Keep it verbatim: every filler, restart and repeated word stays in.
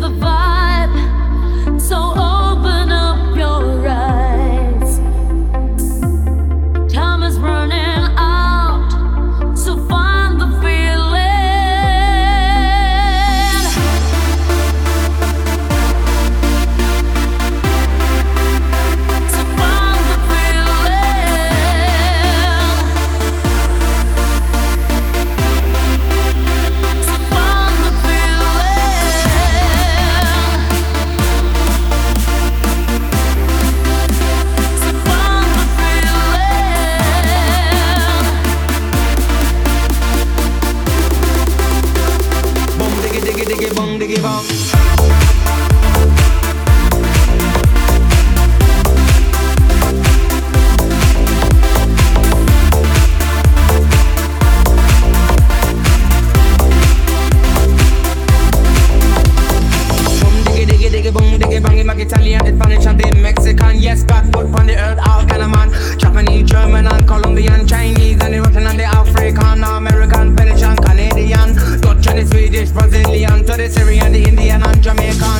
the vibe, so open up your eyes. Time is running out, so find the feeling. So find the feeling. So find the feeling. So find the feeling. Boom diggy diggy diggy boom diggy bong. Boom diggy diggy diggy boom diggy bang. Him like Italian, the Spanish and the Mexican. Yes, God put on the earth all kind of man. Japanese, German and Colombian, Chinese and the Russian and the African, American, Finnish and Canadian, Dutch and the Swedish, Brazilian, to the Syrian, the Indian and Jamaican.